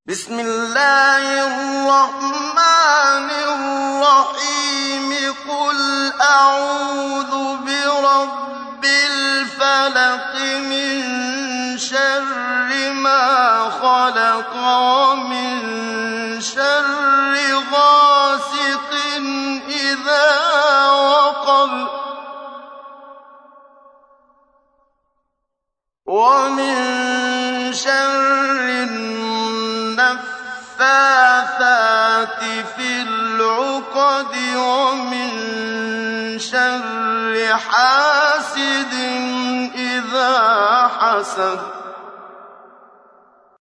بسم الله الرحمن الرحيم قل أعوذ برب الفلق من شر ما خلق ومن شر غاسق إذا وقب ومن شر النفاثات في العقد ومن شر حاسد إذا حسد